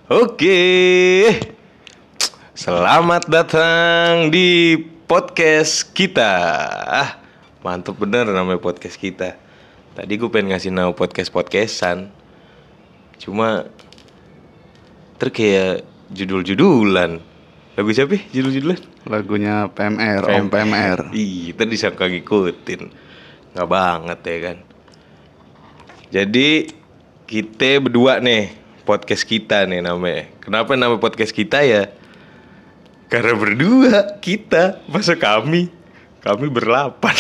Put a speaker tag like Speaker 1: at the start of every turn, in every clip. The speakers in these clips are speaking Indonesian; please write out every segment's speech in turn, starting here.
Speaker 1: Oke, selamat datang di podcast kita. Mantap bener namanya podcast kita. Tadi gue pengen ngasih nama podcast-podcastan, cuma kayak judul-judulan. Lagu siapa ya judul-judulan?
Speaker 2: Lagunya PMR, Om PMR.
Speaker 1: Ih, tadi disangka ngikutin. Nggak banget ya kan. Jadi kita berdua nih, podcast kita nih namanya. Kenapa nama podcast kita ya? Karena berdua kita, masa kami berlapan.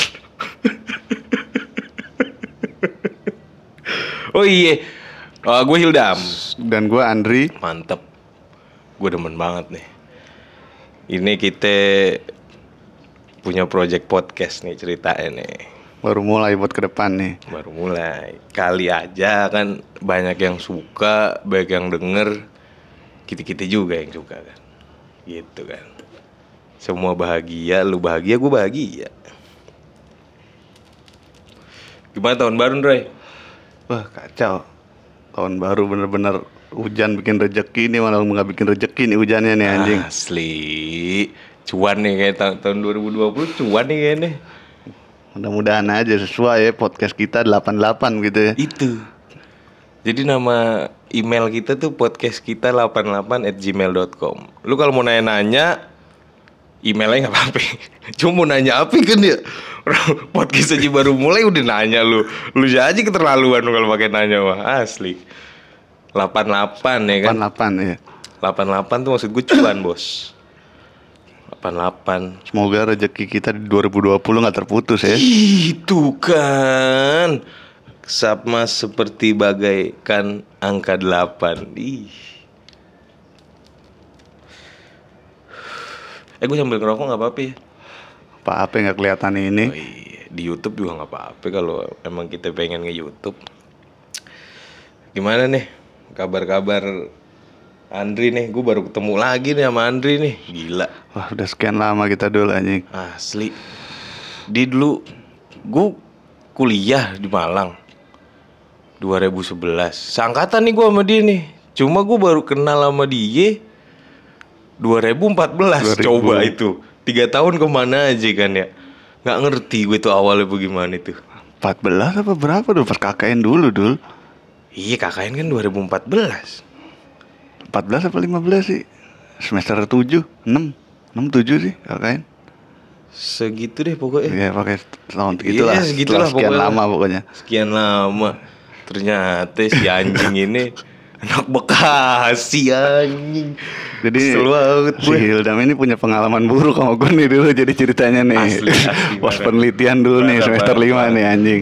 Speaker 1: Oh iya, gue Hildam.
Speaker 2: Dan gue Andri.
Speaker 1: Mantep, gue demen banget nih. Ini kita punya project podcast nih ceritanya nih.
Speaker 2: Baru mulai buat ke depan nih.
Speaker 1: Baru mulai. Kali aja kan banyak yang suka, banyak yang denger. Kita-kita juga yang suka kan. Gitu kan. Semua bahagia, lu bahagia, gue bahagia. Gimana tahun baru, Ndroy?
Speaker 2: Wah kacau. Tahun baru bener-bener hujan bikin rejeki nih. Malah gak bikin rejeki nih hujannya nih anjing.
Speaker 1: Asli. Cuan nih kayak tahun 2020, cuan nih kayaknya.
Speaker 2: Mudah-mudahan aja sesuai ya podcast kita 88 gitu ya.
Speaker 1: Itu. Jadi nama email kita tuh podcastkita88@gmail.com. Lu kalau mau nanya-nanya emailnya nggak apa-apa. Cuma mau nanya apa kan ya? Podcast aja baru mulai udah nanya lu. Lu aja keterlaluan lu kalau pakai nanya mah. Asli. 88 ya kan?
Speaker 2: 88 ya.
Speaker 1: 88 tuh maksud gue cuan, Bos. 88.
Speaker 2: Semoga rezeki kita di 2020 gak terputus ya.
Speaker 1: Itu kan sama seperti bagaikan angka 8. Gue sambil ngerokok gak apa-apa ya?
Speaker 2: Apa-apa gak kelihatan ini.
Speaker 1: Oh iya, di YouTube juga gak apa-apa kalau emang kita pengen nge-YouTube. Gimana nih kabar-kabar Andri nih? Gue baru ketemu lagi nih sama Andri nih. Gila.
Speaker 2: Wah udah sekian lama kita dulu anjing.
Speaker 1: Asli. Dulu gue kuliah di Malang 2011. Seangkatan nih gue sama dia nih. Cuma gue baru kenal sama dia 2014. Coba itu 3 tahun kemana aja kan ya. Gak ngerti gue tuh awalnya bagaimana itu.
Speaker 2: 14 apa berapa dulu pas KKN dulu dul.
Speaker 1: Iya KKN kan 2014.
Speaker 2: 14 apa 15 sih? Semester 7, 6, 7 sih KKN.
Speaker 1: Segitu deh pokoknya.
Speaker 2: Iya pakai tahun itulah.
Speaker 1: Iya segitulah
Speaker 2: sekian
Speaker 1: pokoknya.
Speaker 2: lama pokoknya.
Speaker 1: Sekian lama. Ternyata si anjing ini anak Bekasi anjing.
Speaker 2: Jadi
Speaker 1: banget
Speaker 2: si Hildam ini punya pengalaman buruk sama gue nih dulu. Jadi ceritanya nih
Speaker 1: Asli
Speaker 2: pas penelitian dulu nih semester 5 nih anjing.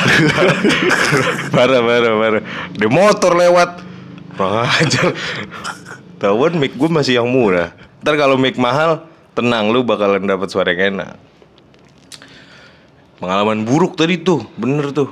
Speaker 1: Parah. Di motor lewat kurang ajar. Tahuan mic gue masih yang murah. Ntar kalau mic mahal, tenang lu bakalan dapat suara yang enak. Pengalaman buruk tadi tuh, bener tuh.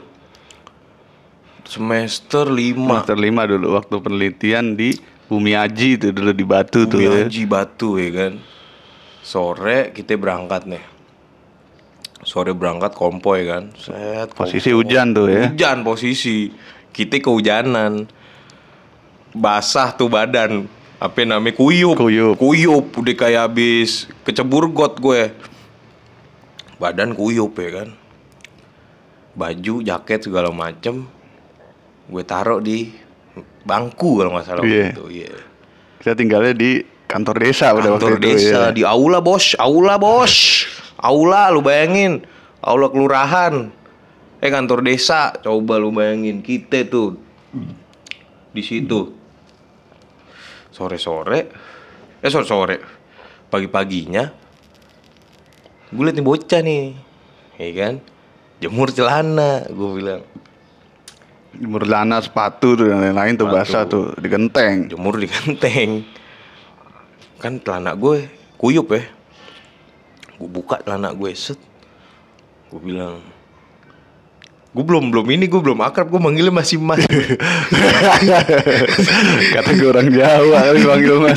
Speaker 1: Semester 5
Speaker 2: dulu waktu penelitian di Bumi Aji itu dulu di Batu tuh.
Speaker 1: Bumi Aji Batu ya kan. Sore kita berangkat nih. Sore berangkat konvoy kan.
Speaker 2: Posisi hujan tuh ya.
Speaker 1: Hujan posisi. Kita kehujanan. Basah tuh badan. Apa namanya kuyup. Udah kayak habis kecebur got gue. Badan kuyup ya kan. Baju, jaket segala macem gue taruh di bangku kalau nggak salah gitu. Iya.
Speaker 2: Kita tinggalnya di kantor desa udah waktu itu. Kantor
Speaker 1: desa ya. Di aula bos. Aula lu bayangin. Aula kelurahan. Kantor desa. Coba lu bayangin kita tuh di situ. Sore pagi-paginya gue liat nih bocah nih, ya kan, jemur celana, gue bilang.
Speaker 2: Jemur celana, sepatu tuh dan lain-lain tuh basah tuh di genteng.
Speaker 1: Jemur di genteng. Kan celana gue kuyup ya. Gue buka celana gue set. Gue bilang, gue belum akrab, gue manggilnya masih mas.
Speaker 2: Kata gue orang Jawa kali manggil mas.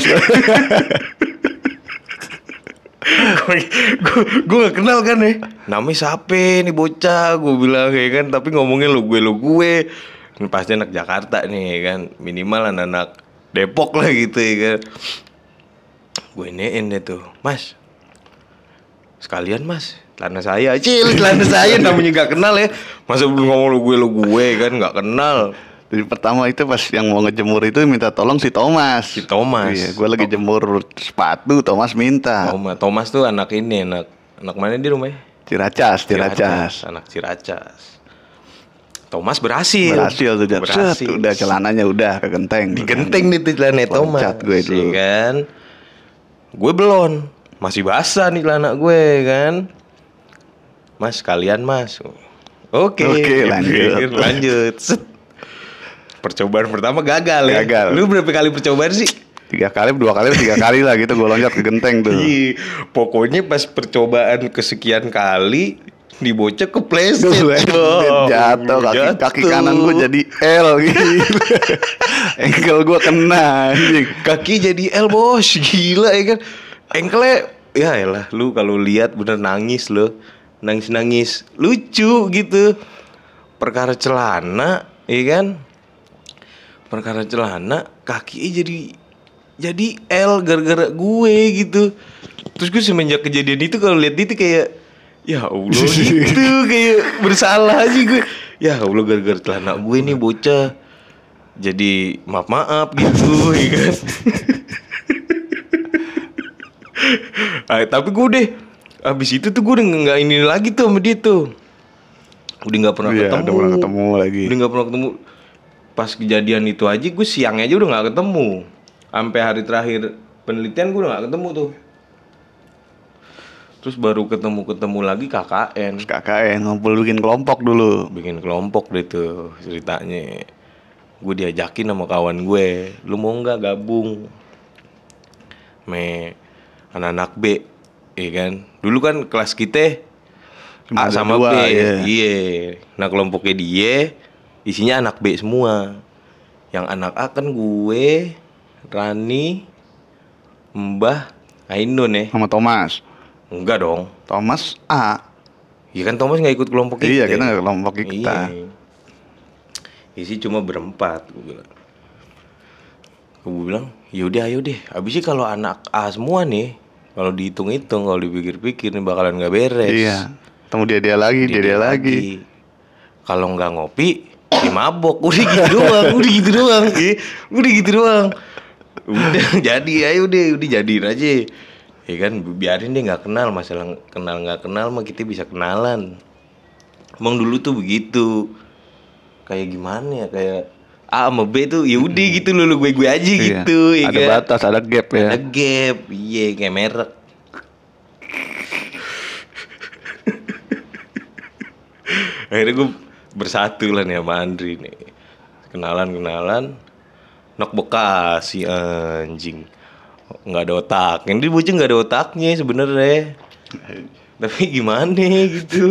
Speaker 1: Gue gak kenal kan ya. Namanya siapa nih bocah, gue bilang ya kan. Tapi ngomongnya lu gue. Ini pasti anak Jakarta nih ya kan. Minimal anak Depok lah gitu ya kan. Gue nein deh tuh, Mas, sekalian Mas, celana saya, celana saya namanya gak kenal ya. Masa belum ngomong lu gue kan gak kenal.
Speaker 2: Jadi pertama itu pas yang mau ngejemur itu minta tolong si Thomas.
Speaker 1: Si Thomas.
Speaker 2: Iya, gue lagi jemur sepatu, Thomas minta.
Speaker 1: Thomas tuh anak ini, anak mana di rumahnya?
Speaker 2: Ciracas.
Speaker 1: Anak Ciracas. Thomas berhasil
Speaker 2: Tuh Jat. Set, udah celananya udah kegenteng.
Speaker 1: digenteng nih tuh celana Thomas.
Speaker 2: Loncat gue dulu.
Speaker 1: Ya kan. Gue belum, masih basah nih celana gue kan. Mas, kalian Mas. Oke, lanjut. Set. Percobaan pertama gagal ya. Lu berapa kali percobaan sih?
Speaker 2: 2 kali, 3 kali lah gitu gue loncat ke genteng tuh.
Speaker 1: Iya, pokoknya pas percobaan kesekian kali dibocek kepleset.
Speaker 2: Jatuh kaki kanan gue jadi L gitu. Engkel gue kena anjing.
Speaker 1: Kaki jadi L bos, gila ya kan. Engkelnya ya elah, lu kalau lihat bener nangis lo. Nangis lucu gitu. Perkara celana, ya kan? Perkara celana kakinya jadi L gara-gara gue gitu. Terus gue semenjak kejadian itu kalau lihat itu kayak ya Allah gitu, kayak bersalah aja gue. Ya Allah, gara-gara celana gue nih bocah jadi maaf gitu ya kan. Tapi gue deh abis itu tuh gue udah nggak ini lagi tuh sama dia tuh. Udah nggak pernah ketemu.
Speaker 2: Udah pernah ketemu lagi.
Speaker 1: Udah nggak pernah ketemu. Pas kejadian itu aja gue siangnya aja udah nggak ketemu. Sampai hari terakhir penelitian gue udah nggak ketemu tuh. Terus baru ketemu lagi KKN.
Speaker 2: KKN ngumpul bikin kelompok dulu.
Speaker 1: Bikin kelompok deh tuh ceritanya. Gue diajakin sama kawan gue, lu mau nggak gabung? Anak-anak B, iya kan? Dulu kan kelas kita A sama B, iya. Nah kelompoknya dia isinya anak B semua. Yang anak A kan gue, Rani, Mbah, Ainun ya.
Speaker 2: Sama Thomas.
Speaker 1: Enggak dong.
Speaker 2: Thomas A.
Speaker 1: Iya kan Thomas nggak ikut kelompok kita.
Speaker 2: Iya, kita nggak kelompok kita.
Speaker 1: Iya. Isi cuma berempat, gue bilang. Gue bilang, yaudah ayo deh. Abisnya kalau anak A semua nih, kalau dihitung-hitung, kalau dipikir-pikir nih bakalan nggak beres.
Speaker 2: Iya. Temu dia lagi.
Speaker 1: Kalau nggak ngopi, ya mabok. Udah gitu doang. Udah jadi, ayo deh, udah jadiin aja. Ya kan, biarin dia nggak kenal. Masalah kenal nggak kenal mah kita bisa kenalan. Emang dulu tuh begitu. Kayak gimana ya, kayak A sama B tuh ya udah gitu lu gue aja gitu.
Speaker 2: Iya. Ada batas, ada gap ya.
Speaker 1: Ada gap, iya kayak merek. Akhirnya gue bersatu lah nih sama Andri nih. Kenalan, nok Bekasi anjing. Nggak ada otak. Yang dia bocah nggak ada otaknya sebenarnya. Tapi gimana gitu.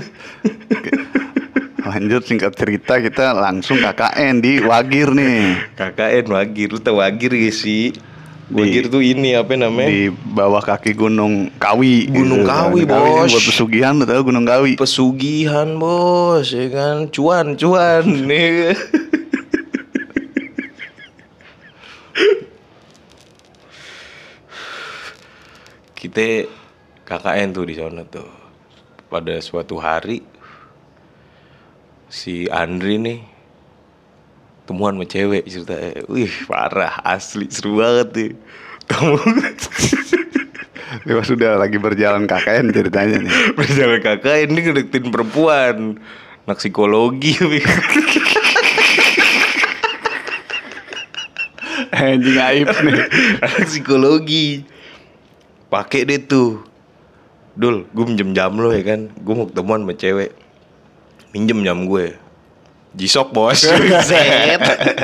Speaker 2: Lanjut singkat cerita kita langsung KKN di Wagir nih.
Speaker 1: KKN Wagir, lu tau Wagir gak sih? Wagir tuh ini apa namanya?
Speaker 2: Di bawah kaki Gunung Kawi.
Speaker 1: Gunung
Speaker 2: gitu.
Speaker 1: Kawi, bos.
Speaker 2: Buat pesugihan, lu tau Gunung Kawi.
Speaker 1: Pesugihan bos, ya kan? Cuan nih. Kita KKN tuh di sana tuh. Pada suatu hari si Andri nih temuan sama cewek ceritanya. Wih parah, asli seru banget nih. Kamu
Speaker 2: Pas sudah lagi berjalan KKN ceritanya nih.
Speaker 1: berjalan KKN ini ngedeketin perempuan, anak psikologi.
Speaker 2: Anjing aib nih.
Speaker 1: Anak psikologi. Pakai deh tuh. Dul, gue minjem jam lo ya kan. Gue mau ketemuan sama cewek. Minjem jam gue. Jisok bos. Set.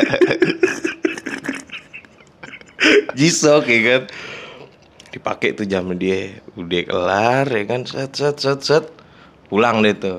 Speaker 1: Jisok ya kan. Dipakai tuh jam dia. Udah kelar ya kan. Set. Pulang deh tuh.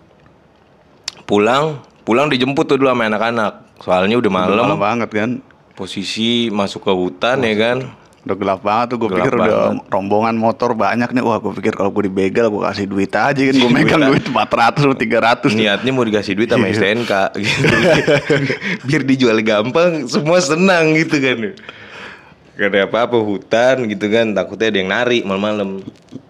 Speaker 1: Pulang dijemput tuh dulu sama anak-anak. Soalnya udah malam
Speaker 2: banget kan.
Speaker 1: posisi masuk ke hutan ya kan.
Speaker 2: Udah gelap banget tuh, gue
Speaker 1: Gelap
Speaker 2: pikir udah
Speaker 1: banget.
Speaker 2: rombongan motor banyak nih. Wah, gue pikir kalau gue dibegal gue kasih duit aja kan. Gue megang duit 400 atau 300 tuh.
Speaker 1: Niatnya mau dikasih duit sama
Speaker 2: Iya.
Speaker 1: STNK gitu. Biar dijual gampang, semua senang gitu kan. Gak ada apa-apa, hutan gitu kan, takutnya ada yang narik malam-malam.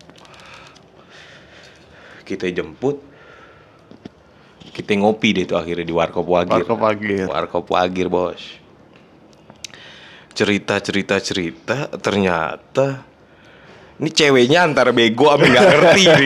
Speaker 1: Kita jemput, kita ngopi deh tuh akhirnya di Warkop Wagir.
Speaker 2: Warkop Wagir.
Speaker 1: Warkop Wagir, bos. Cerita, ternyata ini ceweknya antara bego sama nggak ngerti nih.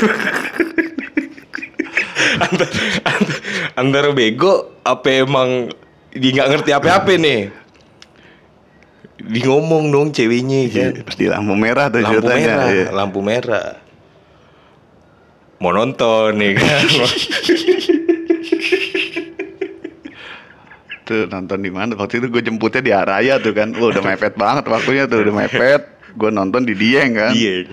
Speaker 1: antara bego apa emang dia nggak ngerti apa-apa nih. Dia ngomong dong ceweknya kan.
Speaker 2: Pas di lampu merah tuh
Speaker 1: Lampu
Speaker 2: ceritanya.
Speaker 1: merah,
Speaker 2: Iya.
Speaker 1: lampu merah. Mau nonton nih kan.
Speaker 2: Tuh nonton di mana? Waktu itu gue jemputnya di Araya tuh kan. Wah, udah mepet banget waktunya tuh, udah mepet. Gue nonton di Dieng kan.
Speaker 1: Iya.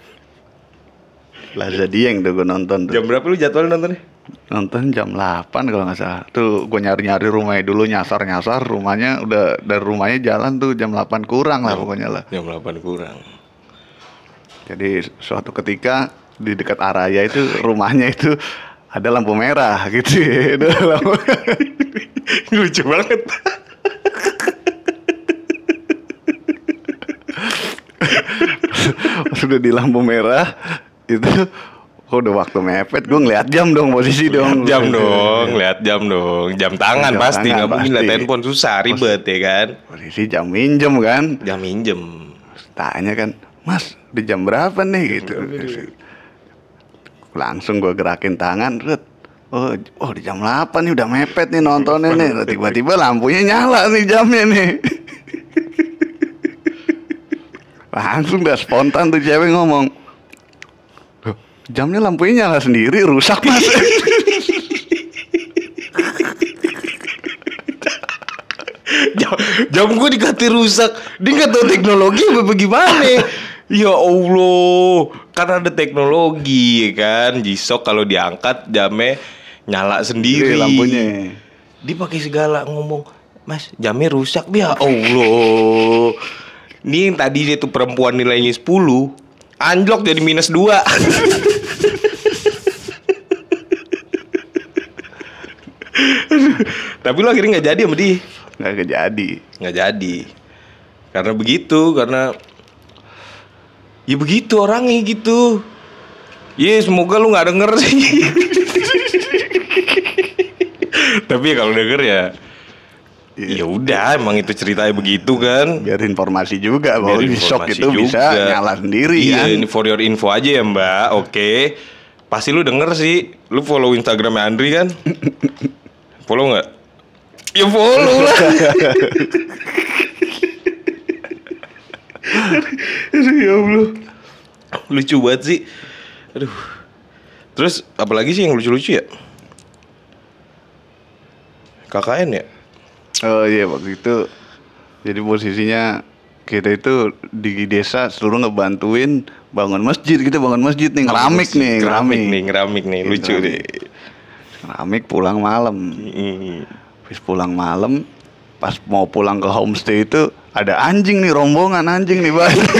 Speaker 2: Plaza Dieng tuh gue nonton tuh.
Speaker 1: Jam berapa lu jadwal nontonnya?
Speaker 2: Nonton jam 8 kalau nggak salah. Tuh gue nyari-nyari rumahnya dulu, nyasar rumahnya, udah dari rumahnya jalan tuh jam 8 kurang lah pokoknya lah.
Speaker 1: Jam 8 kurang.
Speaker 2: Jadi suatu ketika di dekat Araya itu rumahnya itu ada lampu merah gitu. Ada lampu.
Speaker 1: Lucu banget.
Speaker 2: Sudah di lampu merah itu, udah waktu mepet. Gue ngeliat jam dong, posisi dong.
Speaker 1: Lihat jam dong. Jam tangan
Speaker 2: Jam
Speaker 1: pasti,
Speaker 2: tangan
Speaker 1: nggak mungkin lihat
Speaker 2: pasti.
Speaker 1: handphone, susah, ribet ya kan.
Speaker 2: Posisi jam minjem kan.
Speaker 1: Jam minjem.
Speaker 2: Tanya kan, Mas, di jam berapa nih gitu. Langsung gue gerakin tangan, Rut. Oh di jam 8 nih, udah mepet nih nontonnya nih. Tiba-tiba lampunya nyala nih, jamnya nih. Langsung dah spontan tuh cewek ngomong, "Loh, jamnya lampunya nyala sendiri, rusak Mas."
Speaker 1: Jam gue dikata rusak. Dia nggak tahu teknologi apa bagaimana. Ya Allah, kan ada teknologi ya kan. G-Shock kalau diangkat jamnya nyala sendiri.
Speaker 2: Lampunya.
Speaker 1: Dia pakai segala ngomong, "Mas, jamnya rusak." Ya Allah. Ini yang tadi dia tuh perempuan nilainya 10, anjlok jadi -2. Tapi lo akhirnya nggak jadi sama dia.
Speaker 2: Nggak kejadi.
Speaker 1: Nggak jadi. Karena begitu, karena ya begitu orangnya gitu. Ya semoga lu nggak denger sih. Tapi ya kalau denger ya, ya udah, emang itu ceritanya begitu kan.
Speaker 2: Biar informasi juga bahwa
Speaker 1: Biar
Speaker 2: G-Shock
Speaker 1: informasi
Speaker 2: itu bisa
Speaker 1: juga.
Speaker 2: nyala sendiri
Speaker 1: Iya,
Speaker 2: kan.
Speaker 1: ini for your info aja ya Mbak. Oke. Pasti lu denger sih. Lu follow Instagramnya Andri kan? Follow nggak? Ya follow lah. Aduh, ya Allah. Lucu banget sih. Aduh. Terus apalagi sih yang lucu-lucu ya? KKN ya?
Speaker 2: Oh iya, waktu itu jadi posisinya kita itu di desa seluruh ngebantuin bangun masjid. Kita bangun masjid nih, ngeramik nih,
Speaker 1: Ngeramik nih, lucu
Speaker 2: Ngeramik.
Speaker 1: deh.
Speaker 2: Ngeramik pulang malam. Habis pulang malam, pas mau pulang ke homestay itu ada anjing nih, rombongan anjing nih banyak.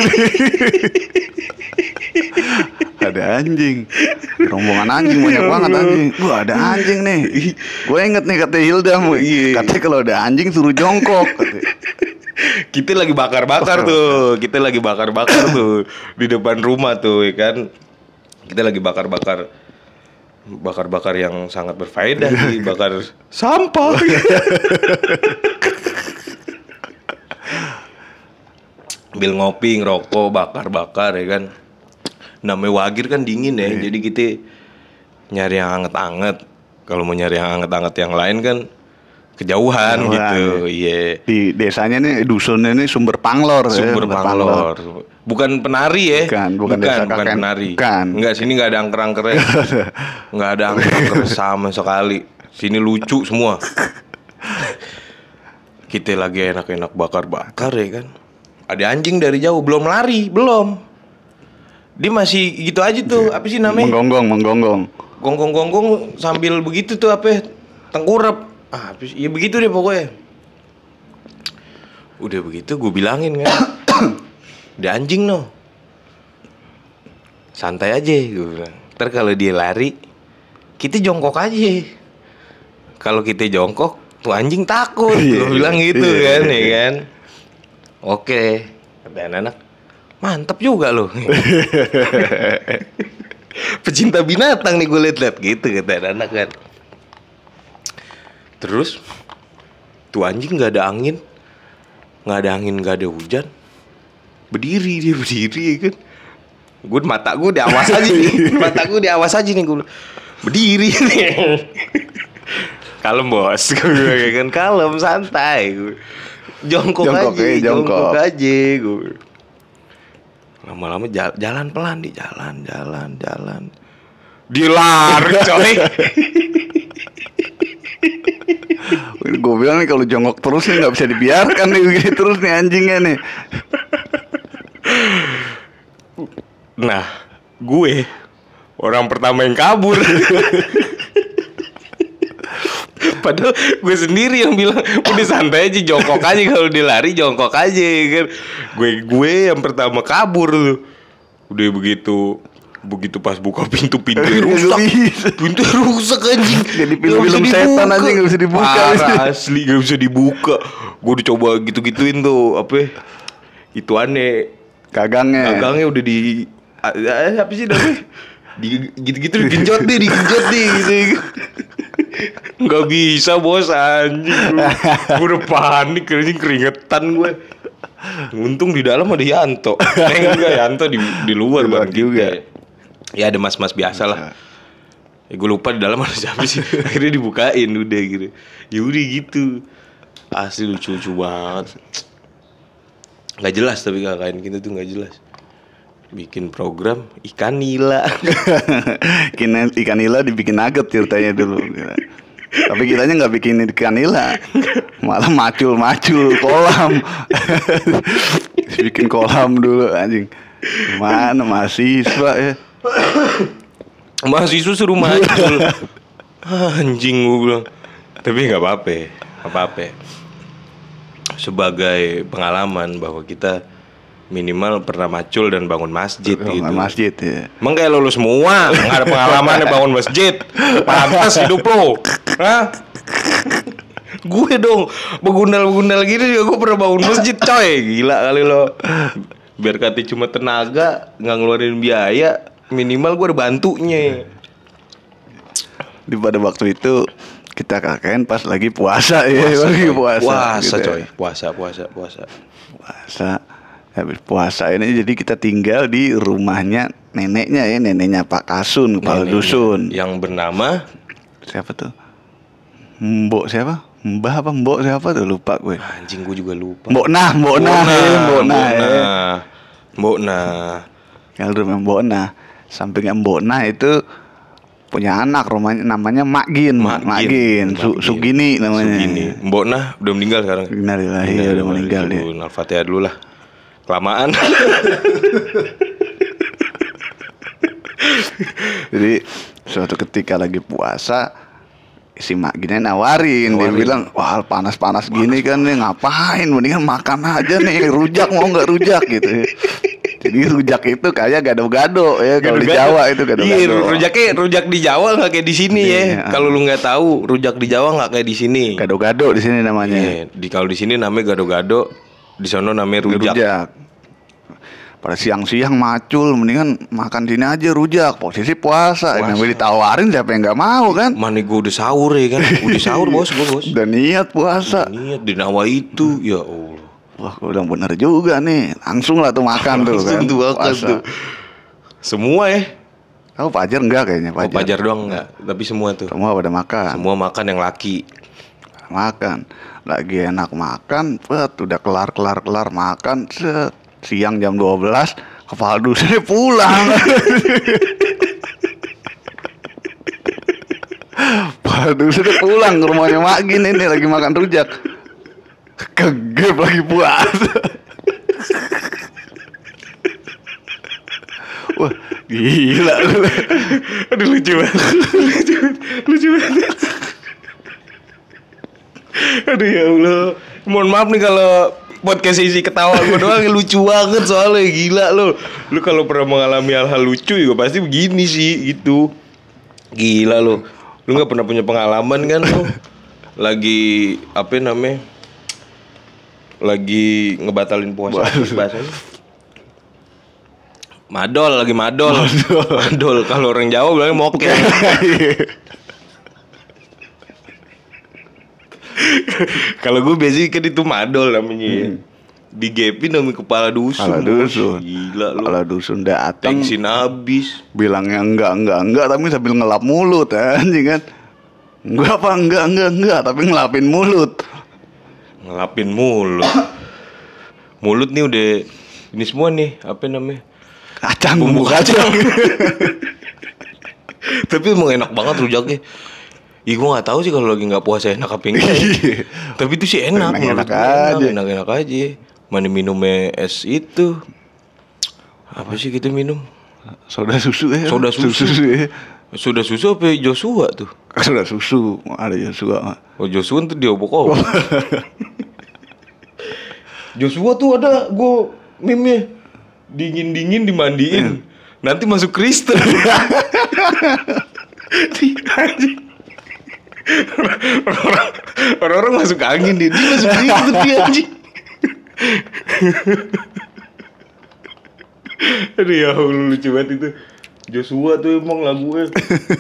Speaker 2: Ada anjing, rombongan anjing banyak banget anjing. Wah, ada anjing nih. Gue inget nih kata Hilda, katanya kalau ada anjing suruh jongkok.
Speaker 1: Kita lagi bakar-bakar tuh. Kita lagi bakar-bakar tuh di depan rumah tuh, ya kan. Kita lagi bakar-bakar yang sangat berfaedah sih, bakar sampah. Sambil ngopi, ngerokok, bakar-bakar ya kan. Namanya Wagir kan dingin ya, jadi kita nyari yang anget-anget. Kalau mau nyari yang anget-anget yang lain kan kejauhan gitu. Iya.
Speaker 2: Di desanya nih, dusunnya nih Sumber Panglor.
Speaker 1: Sumber Panglor. Bukan penari ya?
Speaker 2: Bukan desa
Speaker 1: bukan
Speaker 2: kakek.
Speaker 1: penari.
Speaker 2: Bukan.
Speaker 1: Enggak, sini enggak ada angker-angkernya. Enggak ada angker-angker sama sekali. Sini lucu semua. Kita lagi enak-enak bakar-bakar ya kan. Ada anjing dari jauh, belum lari, belum. Dia masih gitu aja tuh, apa sih namanya?
Speaker 2: Menggonggong.
Speaker 1: Gonggong-gonggong sambil begitu tuh apa? Tengkurap. Ah, ya begitu deh pokoknya. Udah begitu gue bilangin kan. Dia anjing no, santai aja gue bilang. Ntar kalau dia lari, kita jongkok aja. Kalau kita jongkok, tuh anjing takut. Gue bilang gitu kan, ya kan. Oke, kata anak, mantep juga loh. Pecinta binatang nih gue liat-liat gitu kata anak kan. Terus tuh anjing nggak ada angin, nggak ada hujan, berdiri kan. Gue mata gue diawas aja nih, gue berdiri nih. Kalem bos, gue kan kalem santai. Jongkok aja gue. Lama-lama jalan pelan di jalan. Dia lari coy.
Speaker 2: Gue bilang nih kalau jongkok terus nih nggak bisa dibiarkan nih begini terus nih anjingnya nih.
Speaker 1: Nah, gue orang pertama yang kabur. Padahal gue sendiri yang bilang udah santai aja, jongkok aja, kalau dia lari jongkok aja kan. Gue yang pertama kabur tuh. Udah begitu pas buka pintu rusak. Pintu rusak anjing.
Speaker 2: Jadi film setan anjing gak bisa dibuka.
Speaker 1: Parah, asli gak bisa dibuka. Gue dicoba gitu-gituin tuh apa? Itu aneh.
Speaker 2: Gagangnya
Speaker 1: Udah di apa sih namanya? Gitu-gitu digenjot deh gitu. Nggak bisa bos anjing. Gue udah panik anjing, keringetan gue. Untung di dalam ada Yanto. Enggak, Yanto di luar bang juga. Ya ada mas-mas biasa lah. Ya, gue lupa di dalam ada siapa sih. Akhirnya dibukain udah gitu. Ya udah gitu. Asli lucu-lucu banget. Nggak jelas tapi kakak kita tuh nggak jelas. Bikin program ikan nila.
Speaker 2: Ikan nila dibikin nugget ceritanya dulu. Tapi kitanya nggak bikin ikan nila, malah macul kolam. Bikin kolam dulu anjing. Mana mahasiswa ya?
Speaker 1: Mahasiswa suruh macul. Anjing gue bilang. Tapi nggak apa-apa. Sebagai pengalaman bahwa kita minimal pernah macul dan bangun masjid gitu.
Speaker 2: Masjid ya.
Speaker 1: Emang kayak lo semua nggak ada pengalaman bangun masjid. Pantas hidup lo. Hah? Gue dong begundal gini juga gue pernah bangun masjid coy. Gila kali lo. Biar kata cuma tenaga, nggak ngeluarin biaya, minimal gue ada bantunya.
Speaker 2: Di pada waktu itu kita KKN pas lagi puasa ya, lagi puasa
Speaker 1: gitu coy.
Speaker 2: Ya.
Speaker 1: Puasa.
Speaker 2: Habis puasa ini jadi kita tinggal di rumahnya neneknya Pak Kasun, kepala dusun.
Speaker 1: Yang bernama
Speaker 2: siapa tuh? Mbok siapa? Mbah apa Mbok siapa tuh, lupa gue.
Speaker 1: Anjing gue juga lupa.
Speaker 2: Mbok Nah. Kalau rumah Mbok Nah, sampingnya Mbok Nah itu punya anak, rumahnya namanya Makgin. Sugini namanya.
Speaker 1: Mbok Nah udah meninggal sekarang.
Speaker 2: Innalillahi, udah meninggal dia.
Speaker 1: Al-Fatihah dulu lah. Kelamaan.
Speaker 2: Jadi suatu ketika lagi puasa, si Mak Gini nawarin. Dia bilang, wah panas-panas gini kan nih, ngapain, mendingan makan aja nih, rujak mau nggak rujak gitu. Jadi rujak itu kayak gado-gado ya, kalau di Jawa itu gado-gado.
Speaker 1: Iya, rujak di Jawa nggak kayak di sini ya. Kalau lu nggak tahu, rujak di Jawa nggak kayak di sini.
Speaker 2: Gado-gado di sini namanya.
Speaker 1: Kalau di sini namanya gado-gado, di sana namanya rujak.
Speaker 2: Pada siang-siang macul, mendingan makan sini aja rujak. Posisi puasa. Namanya ditawarin, siapa yang nggak mau kan?
Speaker 1: Mana gue udah sahur ya kan? Udah sahur bos.
Speaker 2: Udah niat puasa.
Speaker 1: Niat di nawa itu, ya Allah.
Speaker 2: Wah, udah bener juga nih. Langsung lah tuh makan tuh kan.
Speaker 1: Puasa. Semua ya.
Speaker 2: Kamu Fajar enggak kayaknya?
Speaker 1: Fajar doang enggak, tapi semua tuh.
Speaker 2: Semua pada makan.
Speaker 1: Semua makan yang laki.
Speaker 2: Makan. Lagi enak makan, udah kelar makan, siang jam 12, kepala dusunnya pulang. Kepala dusunnya pulang ke rumahnya Mak Gin ini lagi makan rujak. Kegep lagi puasa. Wah, gila.
Speaker 1: Aduh lucu banget. Aduh ya Allah. Mohon maaf nih kalau podcast isi ketawa gue doang lucu banget soalnya gila lo. Lu kalau pernah mengalami hal-hal lucu juga pasti begini sih gitu. Gila lo. Lu nggak pernah punya pengalaman kan lo? Lagi apa namanya? Lagi ngebatalin puasa bahasanya. Madol lagi madol. Madol kalau orang Jawa bilangnya mokel. Kalau gue biasanya kan itu madol namanya. Digepin sama kepala dusun.
Speaker 2: Kepala dusun.
Speaker 1: Gila lu.
Speaker 2: Kepala dusun datang.
Speaker 1: Tensin abis.
Speaker 2: Bilangnya enggak tapi sambil ngelap mulut anjing kan. Enggak tapi ngelapin mulut.
Speaker 1: Ngelapin mulut. Mulut nih udah ini semua nih, apa namanya?
Speaker 2: Kacang,
Speaker 1: bumbu kacang. Tapi emang enak banget rujaknya. Ih gue gak tahu sih kalau lagi gak puasa enak apa enggak. Tapi itu sih enak.
Speaker 2: Enak aja.
Speaker 1: Enak aja. Mana minumnya es itu. Apa sih kita minum?
Speaker 2: Soda susu ya.
Speaker 1: Soda susu.
Speaker 2: Ya.
Speaker 1: Soda susu apa Joshua tuh?
Speaker 2: Soda susu. Ada Joshua.
Speaker 1: Oh Joshua tuh dia obok-obok. Joshua tuh ada gue meme-nya. Dingin-dingin dimandiin. Nanti masuk Kristen. Orang-orang masuk angin dia masuk Kristen dia anjing. Aduh ya Allah lucu banget itu. Joshua tuh emang lagunya.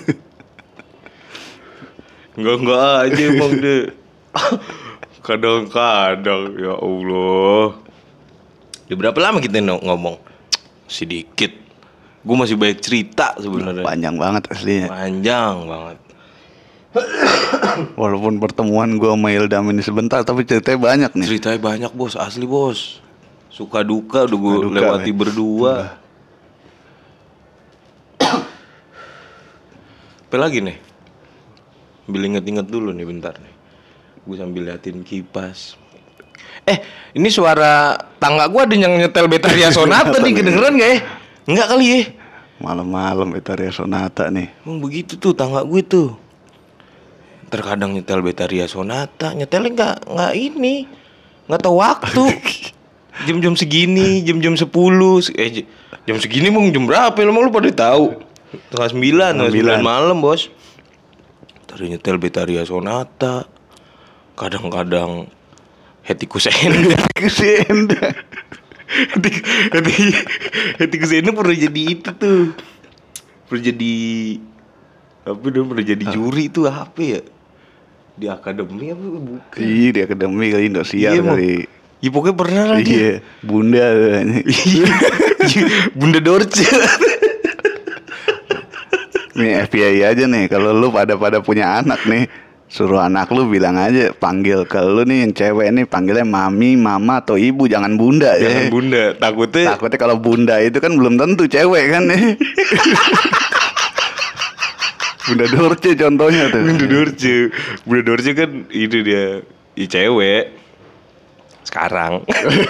Speaker 1: Enggak aja emang deh. Kadang-kadang ya Allah. Udah berapa lama kita ngomong? Sedikit. Gue masih banyak cerita sebenarnya.
Speaker 2: Panjang banget aslinya.
Speaker 1: Panjang banget.
Speaker 2: Walaupun pertemuan gue sama Ildam ini sebentar, tapi ceritanya banyak nih.
Speaker 1: Ceritanya banyak bos, asli bos. Suka duka udah gue lewati berdua. Apa lagi nih? Sambil inget-inget dulu nih bentar nih. Gue sambil liatin kipas. Ini suara tangga gue ada yang nyetel Betaria Sonata nih, kedengeran gak ya? Enggak kali ya?
Speaker 2: Malam-malam Betaria Sonata nih.
Speaker 1: Begitu tuh tangga gue tuh. Terkadang nyetel Betaria Sonata, nyetelnya nggak ini, nggak tahu waktu. Jam-jam segini, jam-jam 10, jam segini mau jam berapa? Lu pada tahu? Tengah 9 malam bos. Tadi nyetel Betaria Sonata, kadang-kadang Hetikus Enda. Hetikus Enda pernah jadi itu tuh. Pernah jadi apa dong? Pernah jadi juri itu apa ya? Di akademi apa bukan?
Speaker 2: Iya di akademi kali Indosiar kali.
Speaker 1: Iya pokoknya pernah lah dia.
Speaker 2: Iya Bunda.
Speaker 1: Bunda Dorce.
Speaker 2: Nih FBI aja nih. Kalau lu pada punya anak nih, suruh anak lu bilang aja, panggil ke lu nih yang cewek nih, panggilnya mami, mama atau ibu, jangan bunda ya.
Speaker 1: Jangan bunda, takutnya
Speaker 2: kalau bunda itu kan belum tentu cewek kan nih. Bunda Dorce contohnya tuh.
Speaker 1: Bunda Dorce kan itu dia cewek sekarang.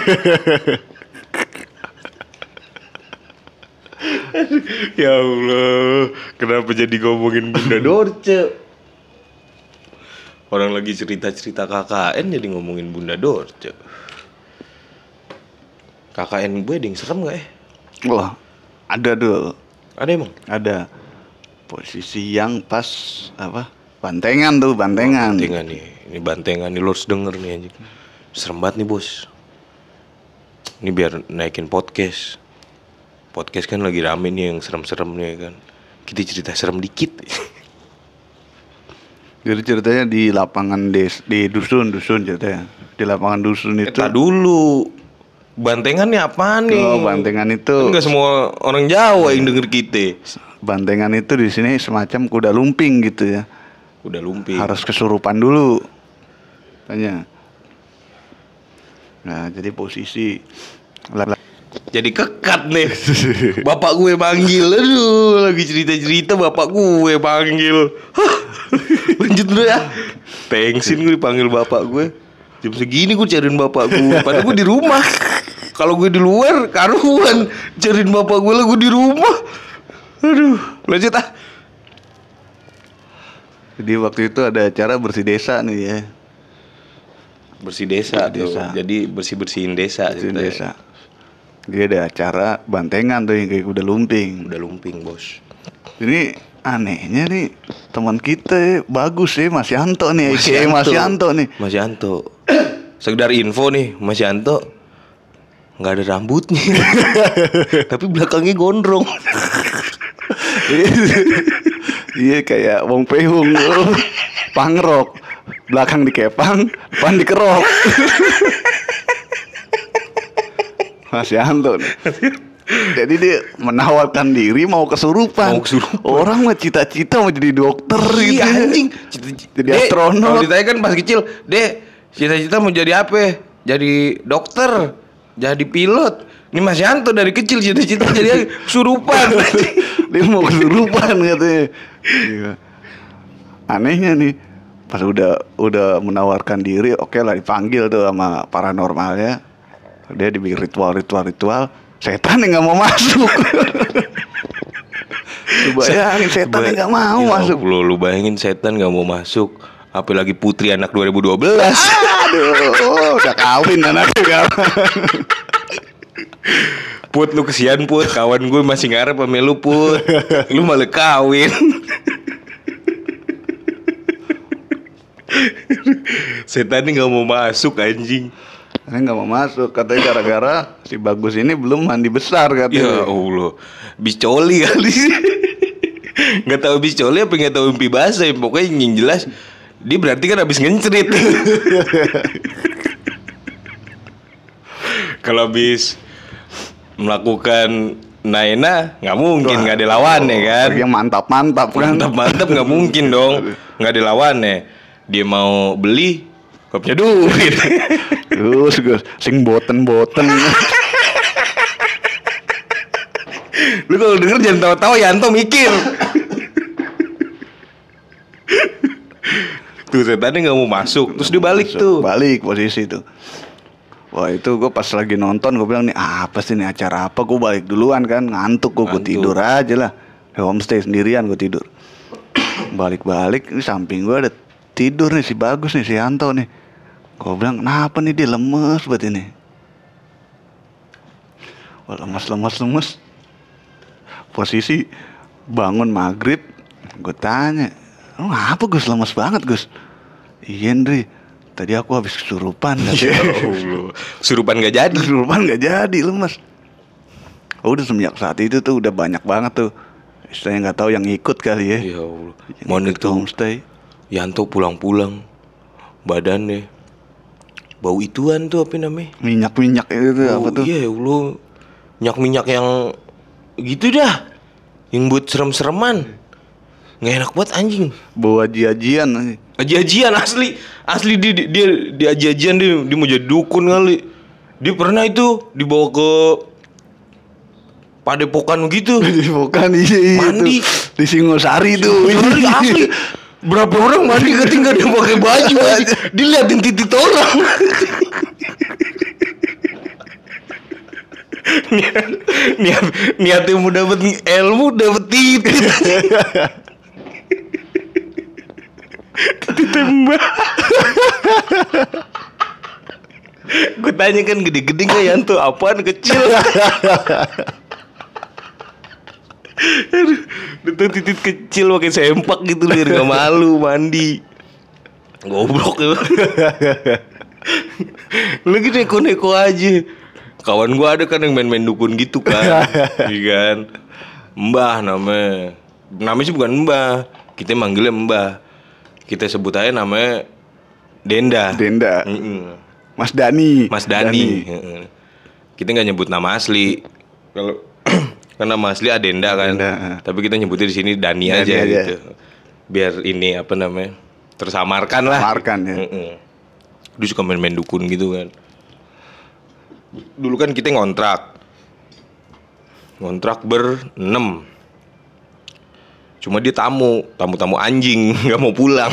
Speaker 1: Ya Allah, kenapa jadi ngomongin Bunda Dorce? Orang lagi cerita-cerita KKN jadi ngomongin Bunda Dorce. KKN gue ada yang serem gak ya?
Speaker 2: Wah, ada tuh.
Speaker 1: Ada emang?
Speaker 2: Ada. Posisi yang pas apa? Bantengan tuh, bantengan.
Speaker 1: Bantengan nih. Ini bantengan nih, lo harus denger nih anjing. Serem banget nih bos. Ini biar naikin podcast. Podcast kan lagi rame nih yang serem-serem nih kan. Kita cerita serem dikit.
Speaker 2: Jadi ceritanya di lapangan di dusun ceritanya. Di lapangan dusun itu.
Speaker 1: Tak dulu. Bantengan nih apaan nih?
Speaker 2: Oh, bantengan itu.
Speaker 1: Kan gak semua orang Jawa yang denger kita.
Speaker 2: Bantengan itu di sini semacam kuda lumping gitu ya.
Speaker 1: Kuda lumping.
Speaker 2: Harus kesurupan dulu. Tanya. Nah, jadi posisi
Speaker 1: jadi kekat nih. Bapak gue manggil. Aduh, lagi cerita-cerita bapak gue panggil. Lanjut dulu ya. Tengsin gue dipanggil bapak gue. Jam segini gue cariin bapak gue. Padahal gue di rumah. Kalau gue di luar karuan. Cariin bapak gue lah gue di rumah. Aduh, lanjut ah.
Speaker 2: Jadi waktu itu ada acara bersih desa nih ya.
Speaker 1: bersih desa
Speaker 2: Bersih
Speaker 1: tuh.
Speaker 2: desa.
Speaker 1: Jadi bersih-bersihin desa
Speaker 2: Di
Speaker 1: gitu.
Speaker 2: desa. Dia ada acara bantengan tuh yang kayak kuda lumping.
Speaker 1: Udah lumping, Bos.
Speaker 2: Ini anehnya nih teman kita bagus ya Mas Yanto nih, Mas Yanto nih.
Speaker 1: Mas Yanto. Sekedar info nih, Mas Yanto nggak ada rambutnya. Tapi belakangnya gondrong.
Speaker 2: Iya kayak Wong Pehung pangrok, belakang dikepang, depan dikerok. Mas Yanto nih. Jadi dia menawarkan diri mau kesurupan. Orang mah cita-cita mau jadi dokter gitu.
Speaker 1: Iya anjing.
Speaker 2: Jadi astronot.
Speaker 1: Kalau ditanya kan pas kecil, Dek, cita-cita mau jadi apa? Jadi dokter, jadi pilot. Ini Mas Yanto dari kecil cita-cita jadi kesurupan.
Speaker 2: Dia mau kesurupan katanya. Iya. Anehnya nih, pas udah menawarkan diri, oke lah dipanggil tuh sama paranormalnya. Dia dibikin ritual, setan yang nggak mau masuk. Lu bayangin setan yang nggak mau masuk.
Speaker 1: Lu bayangin setan nggak mau masuk. Apalagi putri anak 2012.
Speaker 2: Aduh, udah kawin anaknya.
Speaker 1: Put, lu kesian Put. Kawan gue masih ngarep sama lu Put. Lu malah kawin. Setan ini gak mau masuk anjing.
Speaker 2: Ini nggak mau masuk katanya gara-gara si Bagus ini belum mandi besar
Speaker 1: Ya
Speaker 2: katanya.
Speaker 1: Allah, bicoli kali. Gak tahu bicoli apa gak tahu mimpi basah. Pokoknya yang jelas dia berarti kan habis ngencerit. Kalau habis melakukan naena nggak mungkin, nggak ada lawannya kan.
Speaker 2: Yang mantap-mantap kan.
Speaker 1: Mantap nggak mungkin dong, nggak ada lawannya. Dia mau beli, gak punya duit.
Speaker 2: Terus sing boten.
Speaker 1: Lu kalau denger jangan tawa-tawa, Yanto mikir. Tuh setannya nggak mau masuk, terus dia balik tuh.
Speaker 2: Balik posisi tuh. Wah itu gue pas lagi nonton gue bilang nih apa sih nih acara apa, gue balik duluan kan, ngantuk gue tidur aja lah. Di homestay sendirian gue tidur. Balik-balik di samping gue ada tidur nih si Bagus nih, si Yanto nih. Gue bilang kenapa nih dia lemes buat ini. Wah lemes. Posisi bangun maghrib, gue tanya, lu ngapa Gus lemes banget Gus? Iya Ndri, tadi aku habis kesurupan.
Speaker 1: Ya Allah, kesurupan gak jadi.
Speaker 2: Kesurupan gak jadi lemes. Udah semenjak saat itu tuh udah banyak banget tuh, istilahnya nggak tahu yang ikut kali ya.
Speaker 1: Ya Allah, mana
Speaker 2: Ikut ke
Speaker 1: tuh
Speaker 2: homestay.
Speaker 1: Yanto pulang-pulang badannya bau ituan tuh apa namanya?
Speaker 2: Minyak itu tuh apa tuh?
Speaker 1: Iya Allah, minyak yang gitu dah, yang buat serem-sereman. Nggak enak banget anjing.
Speaker 2: Bawa aji-ajian.
Speaker 1: Aji-ajian asli dia aji-ajian dia mau jadi dukun kali. Dia pernah itu dibawa ke Padepokan gitu.
Speaker 2: Bukan iya
Speaker 1: Mandi
Speaker 2: itu. Di Singosari tuh.
Speaker 1: Sorry, asli. Berapa orang mandi ketika dia pakai baju aja. Diliatin titik orang. Niatnya mau dapet ilmu, dapet titik. Ditembak. Gue tanya kan gede-gede gak Yanto, apaan kecil. Itu titik kecil pakai sempak gitu biar gak malu mandi. Goblok ya. Lagi neko-neko aja. Kawan gua ada kan yang main-main dukun gitu kan. Iya kan. Mbah namanya. Namanya sih bukan Mbah. Kita manggilnya Mbah. Kita sebut aja namanya Denda.
Speaker 2: Mas Dani.
Speaker 1: Heeh. Kita nggak nyebut nama asli. Kalau kan nama asli Adenda kan. Tapi kita nyebutnya di sini Dani aja gitu. Biar ini apa namanya? Tersamarkan lah.
Speaker 2: Tersamarkan ya.
Speaker 1: Dia suka main-main dukun gitu kan. Dulu kan kita ngontrak ber-6. Cuma dia tamu anjing, nggak mau pulang.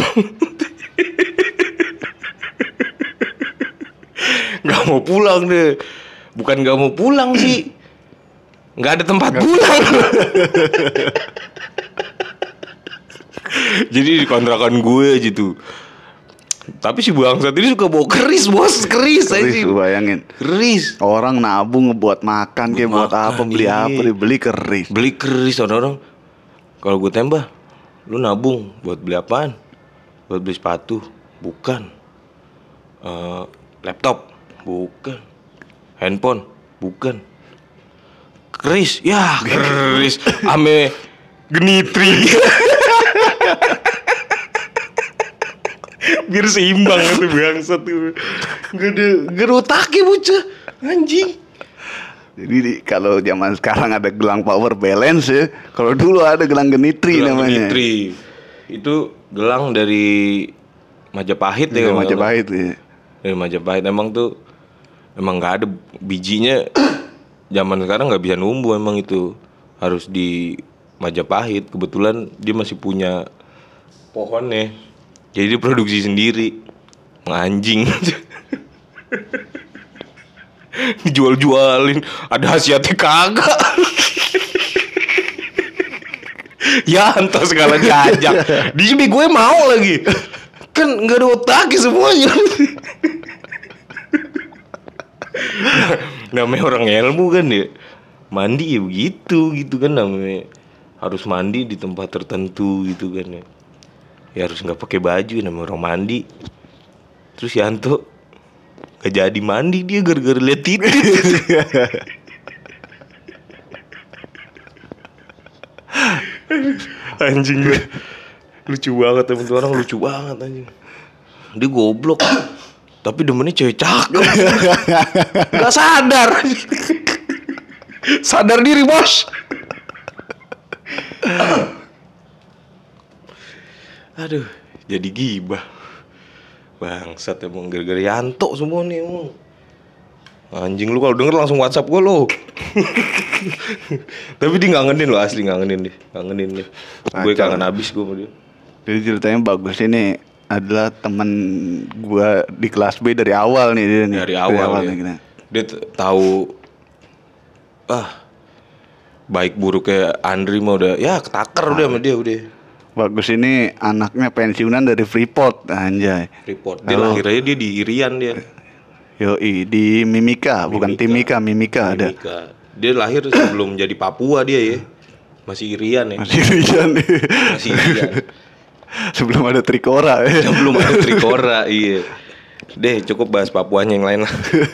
Speaker 1: Nggak mau pulang deh. Bukan nggak mau pulang sih, nggak ada tempat pulang. Jadi di kontrakan gue gitu. Tapi si bangsat ini suka bawa keris bos. Keris aja
Speaker 2: Keris,
Speaker 1: sih.
Speaker 2: lu bayangin.
Speaker 1: Keris.
Speaker 2: Orang nabung ngebuat makan kayak buat
Speaker 1: makan,
Speaker 2: apa, beli
Speaker 1: iya.
Speaker 2: apa, dibeli keris.
Speaker 1: Beli keris orang-orang. Kalau gue tembak, lu nabung buat beli apaan? Buat beli sepatu? Bukan. Laptop? Bukan. Handphone? Bukan. Keris? Ya keris. Ame genitri. Biar seimbang itu bangsat tuh. Gak ada otaknya bocah. Anjing.
Speaker 2: Jadi kalau zaman sekarang ada gelang power balance ya. Kalau dulu ada gelang genitri
Speaker 1: Gelang
Speaker 2: namanya.
Speaker 1: genitri. Itu gelang dari Majapahit ya.
Speaker 2: Dari
Speaker 1: kalau nggak
Speaker 2: Majapahit ya.
Speaker 1: salah. Dari Majapahit emang nggak ada bijinya. Zaman sekarang nggak bisa numbuh emang itu. Harus di Majapahit. Kebetulan dia masih punya pohonnya. Jadi dia produksi sendiri. Anjing. Dijual-jualin. Ada khasiatnya kagak. Ya entah segala diajak. Di sini gue mau lagi. Kan gak ada otaknya semuanya. Namanya orang ilmu kan ya. Mandi ya begitu gitu kan namanya. Harus mandi di tempat tertentu gitu kan ya. Ya harus gak pakai baju namanya orang mandi. Terus Yanto gak jadi mandi dia gara-gara liat titik. Anjing gue. Lucu banget temen tuh orang, lucu banget anjing. Dia goblok. Tapi demennya cewek cakep. Gak sadar. Sadar diri bos. Aduh, jadi gibah. Bangsat emang gara-gara Yanto semua nih emang. Anjing lu kalau denger langsung WhatsApp gue lo. Tapi dia ngangenin lo, asli ngangenin deh. Gue kangen abis gue sama dia.
Speaker 2: Jadi ceritanya bagus ini adalah teman gua di kelas B dari awal nih dia nih.
Speaker 1: Dari awal
Speaker 2: nih,
Speaker 1: ya.
Speaker 2: gitu.
Speaker 1: Dia tahu baik buruknya Andri mah udah ya ketaker udah sama dia udah.
Speaker 2: Bagus ini anaknya pensiunan dari Freeport, anjay.
Speaker 1: Report. Dia lahirnya dia di Irian dia.
Speaker 2: Yoi, di Mimika, bukan Timika, Mimika ada.
Speaker 1: Mimika. Dia lahir sebelum jadi Papua dia ya. Masih Irian ya.
Speaker 2: Masih Irian nih.
Speaker 1: Masih Irian.
Speaker 2: Sebelum ada Trikora ya.
Speaker 1: Sebelum ada Trikora, iya. Deh, cukup bahas Papuanya yang lain lah.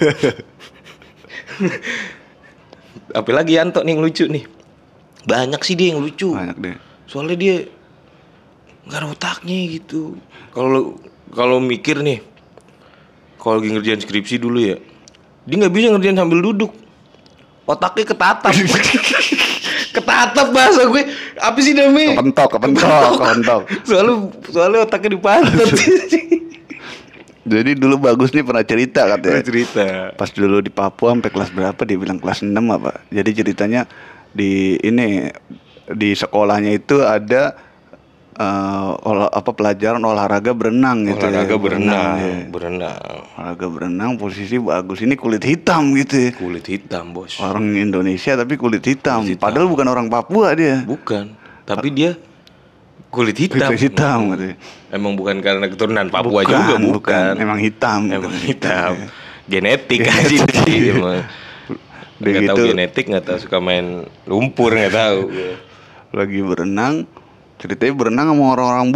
Speaker 1: Apalagi Yanto nih yang lucu nih. Banyak sih dia yang lucu.
Speaker 2: Banyak deh.
Speaker 1: Soalnya dia nggak ada otaknya gitu. Kalau mikir nih, kalau lagi ngerjain skripsi dulu ya, dia nggak bisa ngerjain sambil duduk. Otaknya ketatap. Ketatap bahasa gue. Apa sih namanya?
Speaker 2: Kepentok.
Speaker 1: Soalnya otaknya dipantat.
Speaker 2: Jadi dulu Bagus nih pernah cerita katanya.
Speaker 1: Cerita.
Speaker 2: Pas dulu di Papua sampai kelas berapa dia bilang kelas 6 apa. Jadi ceritanya di sekolahnya itu ada pelajaran olahraga berenang gitu.
Speaker 1: Olahraga berenang.
Speaker 2: Olahraga berenang posisi Bagus ini kulit hitam gitu ya.
Speaker 1: Kulit hitam, bos.
Speaker 2: Orang Indonesia tapi kulit hitam.
Speaker 1: Kulit hitam.
Speaker 2: Padahal bukan orang Papua dia.
Speaker 1: Bukan. Tapi dia kulit hitam.
Speaker 2: Kulit hitam gitu.
Speaker 1: Emang bukan karena keturunan Papua juga bukan.
Speaker 2: Emang hitam.
Speaker 1: Emang hitam. Genetik aja sih emang. Nggak tahu genetik, nggak tahu suka main lumpur, nggak tahu.
Speaker 2: Lagi berenang, ceritanya berenang sama orang-orang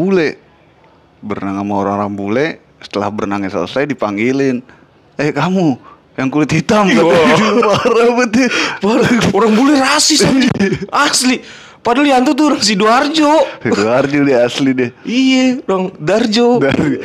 Speaker 2: bule. Setelah berenangnya selesai dipanggilin, kamu yang kulit hitam. Parah betul.
Speaker 1: Orang bule rasis asli. Padahal Yanto tuh orang Sidoarjo
Speaker 2: dia asli deh.
Speaker 1: Iya, orang Darjo.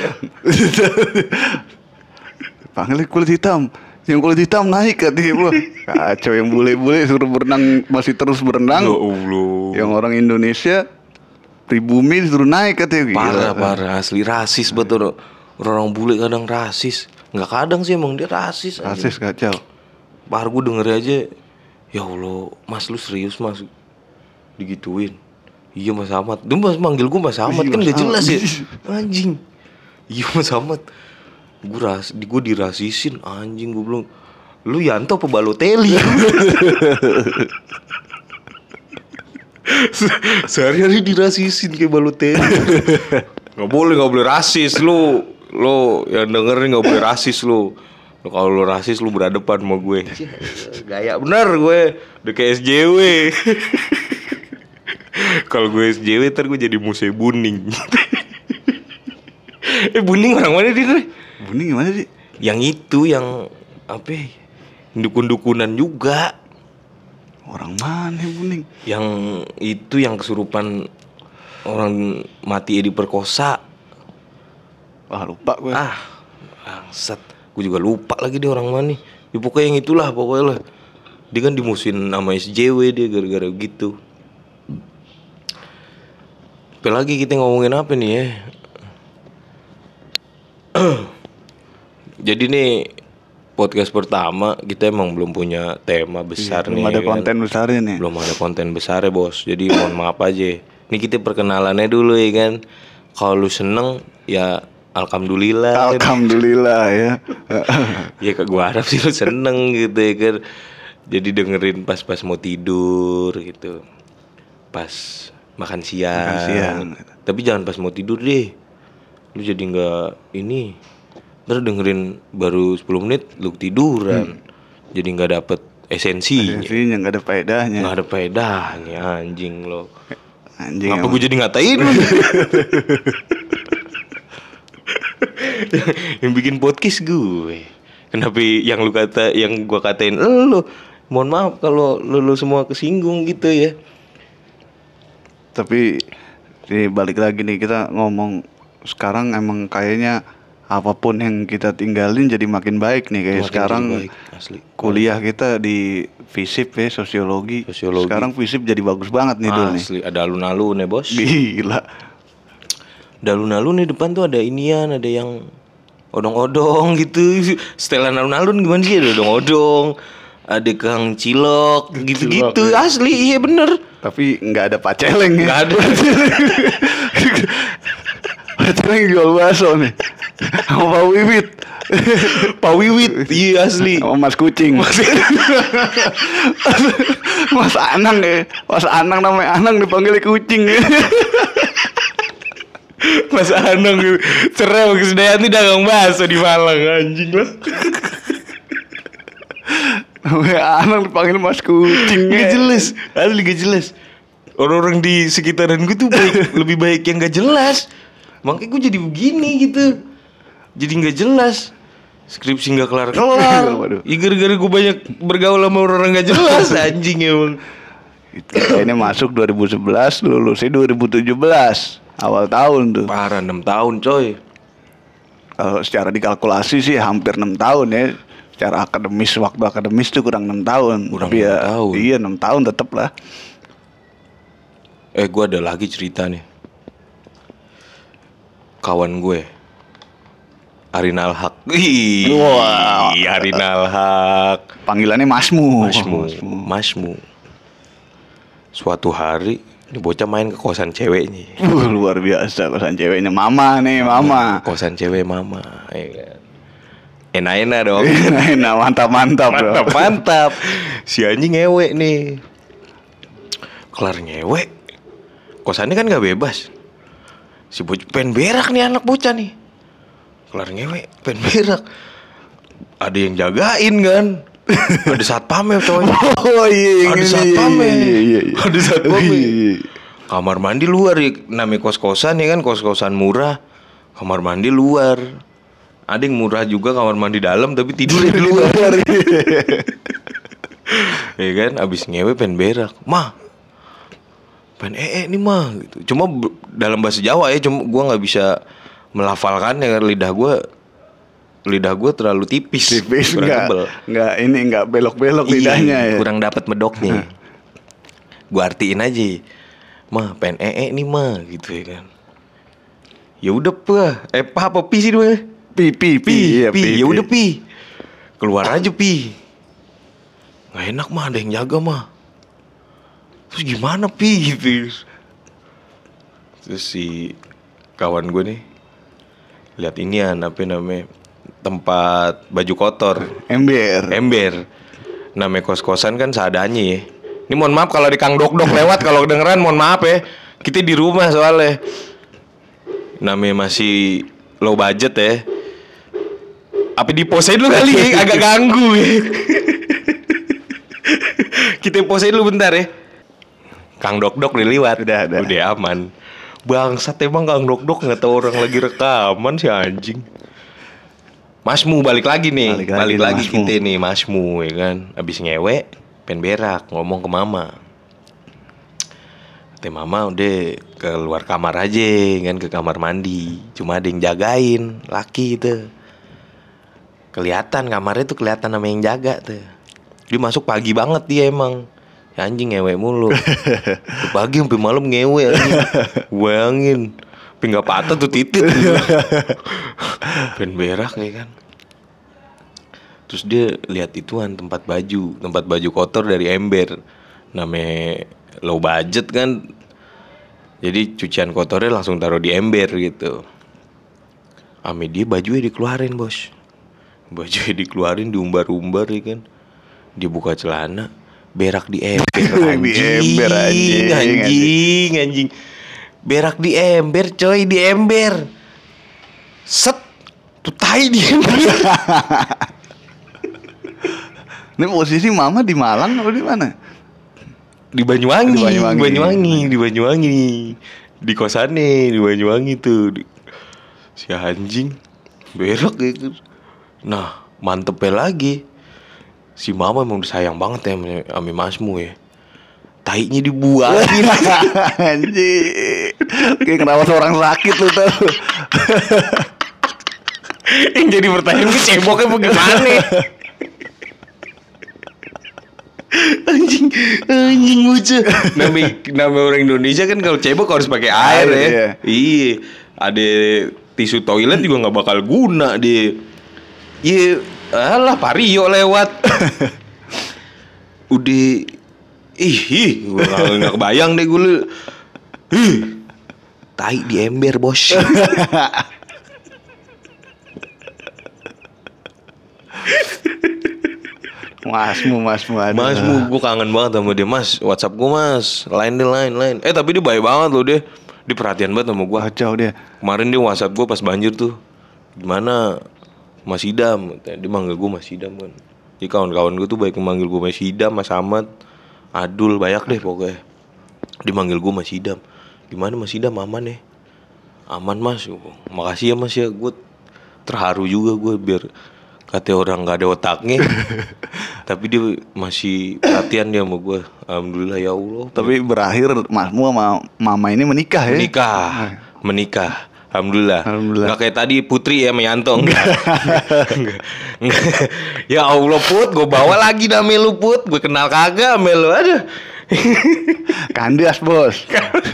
Speaker 2: Panggilin kulit hitam. Yang kulit hitam naik katanya. Wah, kacau yang bule-bule suruh berenang, masih terus berenang.
Speaker 1: Ya Allah.
Speaker 2: Yang orang Indonesia pribumi disuruh naik katanya.
Speaker 1: Parah asli rasis betul. Orang bule kadang rasis. Nggak kadang sih emang dia rasis.
Speaker 2: Rasis kacau.
Speaker 1: Parah gue denger aja. Ya Allah, Mas lu serius Mas digituin. Iya Mas Ahmad. Dia Mas manggil gue Mas Ahmad kan gak jelas ya. Anjing. Iya Mas Ahmad. Gue dirasisin anjing. Gue bilang lu Yanto apa Balotelli? Sehari-hari dirasisin kayak Balotelli. Gak boleh rasis. Lu lo yang dengerin nggak boleh rasis lo. Kalau lo rasis lo berhadapan sama gue. Gaya bener gue, udah kayak SJW. Kalau gue SJW ntar gue jadi Muse Buning. Buning orang mana dia?
Speaker 2: Buning gimana sih?
Speaker 1: Yang itu yang apa? Ya? Dukun-dukunan juga.
Speaker 2: Orang mana Buning?
Speaker 1: Yang itu yang kesurupan orang mati diperkosa.
Speaker 2: Wah lupa gue.
Speaker 1: Bangsat. Gue juga lupa lagi dia orang mana. Ya, pokoknya yang itulah pokoknya lah. Dia kan dimusuhin sama SJW dia gara-gara gitu. Apalagi kita ngomongin apa nih ya? Jadi nih podcast pertama kita emang belum punya tema besar nih.
Speaker 2: Belum ada konten besarnya nih.
Speaker 1: Belum ada konten besarnya bos. Jadi mohon maaf aja. Ini kita perkenalannya dulu ya kan. Kalau lu seneng ya alhamdulillah.
Speaker 2: Alhamdulillah ya.
Speaker 1: Ya gue harap sih lu seneng gitu ya kan. Jadi dengerin pas mau tidur gitu. Pas makan siang. Tapi jangan pas mau tidur deh. Lu jadi gak ini. Ntar dengerin baru 10 menit lu tiduran. Jadi gak dapet esensinya.
Speaker 2: Esensinya gak ada faedahnya.
Speaker 1: Gak ada faedahnya anjing lo.
Speaker 2: Anjing.
Speaker 1: Ngapa gue jadi ngatain lu? Yang bikin podcast gue. Kenapa yang gue katain lu? Mohon maaf kalau lu semua kesinggung gitu ya.
Speaker 2: Tapi balik lagi nih kita ngomong sekarang emang kayaknya apapun yang kita tinggalin jadi makin baik nih kayak makin sekarang baik, asli. Kuliah kita di FISIP ya sosiologi. Sekarang FISIP jadi bagus banget nih dulu nih.
Speaker 1: Asli ada alun-alun ya bos.
Speaker 2: Gila.
Speaker 1: Ada alun-alun nih depan tuh ada inian, ada yang odong-odong gitu. Setelan alun-alun gimana sih, ada odong-odong, ada kang cilok gitu-gitu ya. Asli iya bener.
Speaker 2: Tapi nggak ada paceleng ya.
Speaker 1: Nggak ada.
Speaker 2: Paceleng jual bakso nih. Sama Pak Wiwit.
Speaker 1: Pak Wiwit, iya asli.
Speaker 2: Sama Mas Kucing. Mas Anang ya. Mas Anang namanya Anang dipanggil Kucing ya.
Speaker 1: Mas Anang cerai sama Krisdayanti dagang bakso di Malang anjing lah.
Speaker 2: Namanya Anang dipanggil Mas Kucing.
Speaker 1: Gak jelas, asli gak jelas. Orang-orang di sekitaran gue tuh lebih baik yang gak jelas. Makanya gue jadi begini gitu. Jadi gak jelas. Skripsi gak kelar-kelar. Ya gara-gara gue banyak bergaul sama orang-orang gak jelas. Anjing emang.
Speaker 2: Ini masuk 2011, lulusnya 2017. Awal tahun tuh.
Speaker 1: Parah 6 tahun coy.
Speaker 2: Kalau secara dikalkulasi sih hampir 6 tahun ya. Secara akademis, waktu akademis tuh kurang 6 tahun.
Speaker 1: Kurang
Speaker 2: tapi
Speaker 1: 6
Speaker 2: ya,
Speaker 1: tahun.
Speaker 2: Iya 6 tahun tetep lah.
Speaker 1: Gue ada lagi cerita nih. Kawan gue Arinal Haq.
Speaker 2: Wah,
Speaker 1: Arinal Haq.
Speaker 2: Panggilannya Masmu.
Speaker 1: Masmu. Suatu hari ini bocah main ke kosan ceweknya.
Speaker 2: Luar biasa kosan ceweknya Mama nih, Mama.
Speaker 1: Kosan cewek Mama, ya kan. Enak-enak dong.
Speaker 2: Enak, mantap.
Speaker 1: Mantap. Si anjing ngewe nih. Kelar ngewe. Kosannya kan gak bebas. Si bocah pengen berak nih anak bocah nih. Kelar ngewe, pengen berak. Ada yang jagain kan. Ada satpamnya coy.
Speaker 2: Oh iya.
Speaker 1: Ada satpamnya.
Speaker 2: Iya.
Speaker 1: Ada satpamnya. Kamar mandi luar ya. Namanya kos-kosan ya kan. Kos-kosan murah. Kamar mandi luar. Ada yang murah juga kamar mandi dalam. Tapi tidurnya di luar. Ya kan. Abis ngewe pengen berak. Mah, pengen nih mah gitu. Cuma dalam bahasa Jawa ya. Cuma gue gak bisa melafalkan ya. Lidah gue terlalu tipis nggak belok-belok lidahnya ya. Kurang dapat medoknya. Gue artiin aja. Mah pengen nih mah gitu ya kan. Ya udah apa pi sih dua? Pi. Ya udah pi. Keluar aja pi. Nggak enak mah, ada yang jaga mah. Terus gimana pi gitu. Terus si kawan gue nih lihat inian apa namanya, tempat baju kotor, ember. Namanya kos-kosan kan seadanya ya. Ini mohon maaf kalau di Kang Dok-Dok lewat, kalau kedengeran mohon maaf ya. Kita di rumah soalnya. Namanya masih low budget ya. Apa diposein lu kali agak ganggu ya. Kita posein lu bentar ya. Kang Dok-Dok udah lewat. Udah aman. Bangsat emang Kang Dok-Dok nggak tahu orang lagi rekaman si anjing. Masmu balik lagi nih. Balik lagi kita nih Masmu ya kan. Abis ngewe pengen berak ngomong ke mama. Kata mama udah keluar kamar aja kan, ke kamar mandi. Cuma ada yang jagain laki itu. Kelihatan kamarnya tuh kelihatan sama yang jaga tuh. Dia masuk pagi banget dia emang. Ya anjing ngewe mulu. Pagi sampai malam ngewe anjing. Bayangin. Tapi gak patah tuh titit. Pengen berak ya kan. Terus dia lihat ituan tempat baju kotor dari ember. Namanya low budget kan. Jadi cucian kotornya langsung taruh di ember gitu. Ame dia bajunya dikeluarin bos. Bajunya dikeluarin diumbar-umbar ya kan. Dia buka celana, berak di ember. Anjing. Berak di ember coy, di ember. Set. Tuh tai di ember.
Speaker 2: Ini posisi mama di Malang atau di mana?
Speaker 1: Di Banyuwangi. Di kosannya di Banyuwangi tuh. Si anjing berak gitu. Nah, mantepnya lagi. Si mama emang sayang banget ya sama Masmu ya. Tainya dibuangin.
Speaker 2: Anjing. Kayak kenapa seorang sakit lu tau.
Speaker 1: Yang jadi pertanyaan gue ceboknya bagaimana? Anjing lucu. Nama orang Indonesia kan kalau cebok harus pakai air ya. Iya. Ada tisu toilet juga nggak bakal guna deh. Iya, alah Vario lewat. Udah, gue nggak kebayang deh gue. Tai di ember bos. Masmu, gue kangen banget sama dia. Mas, WhatsApp gue mas, lain. Tapi dia baik banget loh dia. Dia perhatian banget sama gue.
Speaker 2: Kacau dia.
Speaker 1: Kemarin dia WhatsApp gue pas banjir tuh. Gimana Mas Idam? Dia manggil gue Mas Idam kan. Jadi kawan-kawan gue tuh baik manggil gue Mas Idam, Mas Ahmad, Adul, banyak deh pokoknya. Dia manggil gue Mas Idam. Gimana Mas Idam, aman ya? Aman mas. Makasih ya mas ya. Gue terharu juga gue biar kata orang gak ada otaknya. Tapi dia masih perhatian dia sama gue. Alhamdulillah ya Allah.
Speaker 2: Tapi berakhir Masmu sama mama ini menikah ya?
Speaker 1: Menikah. Alhamdulillah. Gak kayak tadi Putri ya sama Yanto. Enggak. Ya Allah Put, gue bawa lagi nama lu Put. Gue kenal kagak sama lu. Aduh.
Speaker 2: Kandias bos.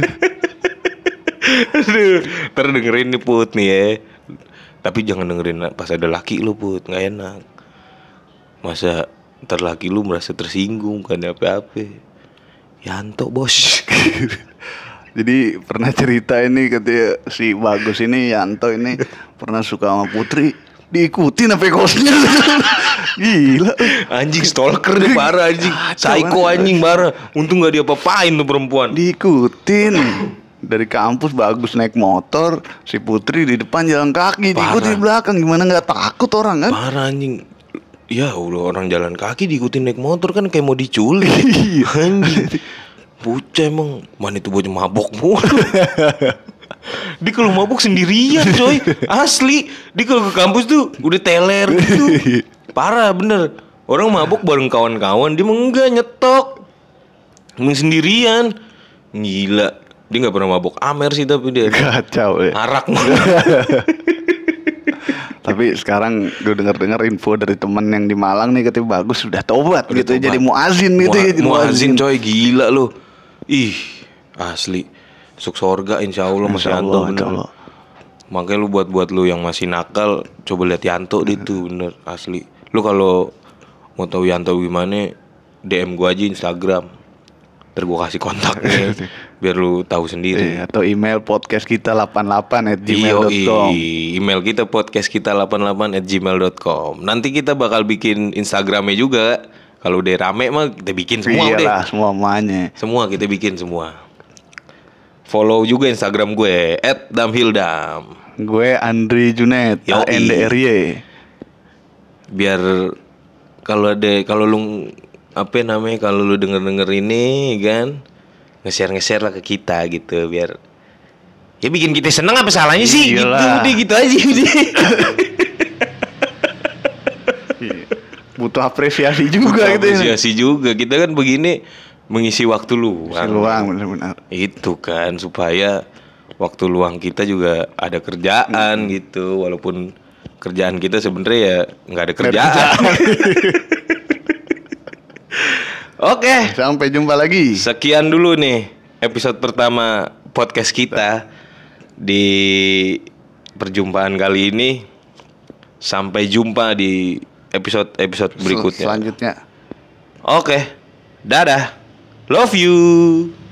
Speaker 1: Aduh. Ntar dengerin nih Put nih ya. Tapi jangan dengerin pas ada laki lu Put, gak enak. Masa ntar laki lu merasa tersinggung kan apa-apa. Yanto bos.
Speaker 2: Jadi pernah cerita ini katanya si Bagus ini Yanto ini pernah suka sama Putri, diikutin sampai kosnya. Gila.
Speaker 1: Anjing stalker dia parah anjing. Psycho anjing parah. Untung gak diapa-apain tuh perempuan.
Speaker 2: Diikutin. Dari kampus Bagus naik motor, si Putri di depan jalan kaki, diikutin di belakang. Gimana gak takut orang kan?
Speaker 1: Parah anjing. Ya Allah, orang jalan kaki diikutin naik motor kan kayak mau diculik. Anjing. Bocah emang. Mana itu bocah mabok mulu. Dia kalau mabok sendirian coy. Asli. Dia kalau ke kampus tuh udah teler gitu. Parah bener. Orang mabok bareng kawan-kawan, dia enggak nyetok. Emang sendirian. Gila. Dia gak pernah mabok Amer sih tapi dia.
Speaker 2: Kacau ya.
Speaker 1: Arak.
Speaker 2: Tapi sekarang gue dengar info dari temen yang di Malang nih katanya Bagus sudah tobat gitu tobat. Jadi muazin gitu ya.
Speaker 1: Muazin coy gila lu. Ih asli. Masuk surga insya Allah Mas Yanto bener. Makanya lu buat lu yang masih nakal, coba lihat Yanto deh tuh bener asli. Lu kalau mau tahu Yanto gimana, DM gua aja Instagram. Ntar gua kasih kontaknya biar lu tahu sendiri.
Speaker 2: Atau email podcast kita 88@gmail.com.
Speaker 1: Email kita podcast kita 88@gmail.com. Nanti kita bakal bikin Instagramnya juga. Kalau udah rame mah kita bikin semua.
Speaker 2: Iyalah, semuanya.
Speaker 1: Semua kita bikin semua. Follow juga Instagram gue @damhildam.
Speaker 2: Gue Andri Junet,
Speaker 1: Yoi.
Speaker 2: ANDRY.
Speaker 1: Biar kalau lu kalau lu denger ini kan nge-share lah ke kita gitu, biar ya bikin kita seneng, apa salahnya sih?
Speaker 2: Iyalah.
Speaker 1: Gitu aja udah.
Speaker 2: Butuh apresiasi juga gitu ya.
Speaker 1: Apresiasi juga, kita kan begini mengisi waktu luang.
Speaker 2: Si luang benar-benar.
Speaker 1: Itu kan supaya waktu luang kita juga ada kerjaan gitu, walaupun kerjaan kita sebenarnya ya nggak ada kerjaan. Oke,
Speaker 2: Sampai jumpa lagi.
Speaker 1: sekian dulu nih episode pertama podcast kita di perjumpaan kali ini. Sampai jumpa di episode berikutnya.
Speaker 2: Selanjutnya.
Speaker 1: Oke, dadah, love you.